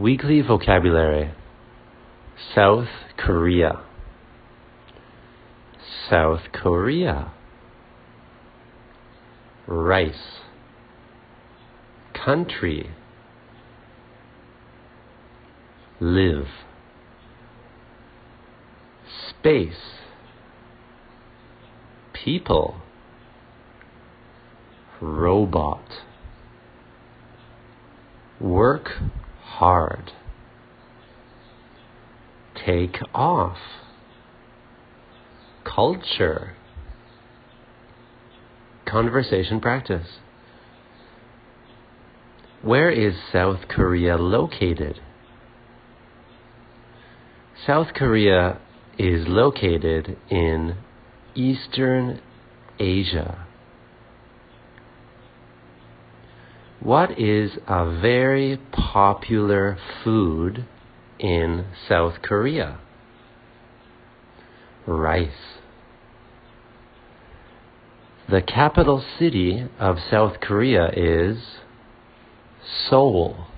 Weekly vocabulary. South Korea. South Korea. Rice. Country. Live. Space. People. Robot. Work hard. Take off. Culture. Conversation practice. Where is South Korea located? South Korea is located in Eastern Asia. What is a very popular food in South Korea? Rice. The capital city of South Korea is Seoul.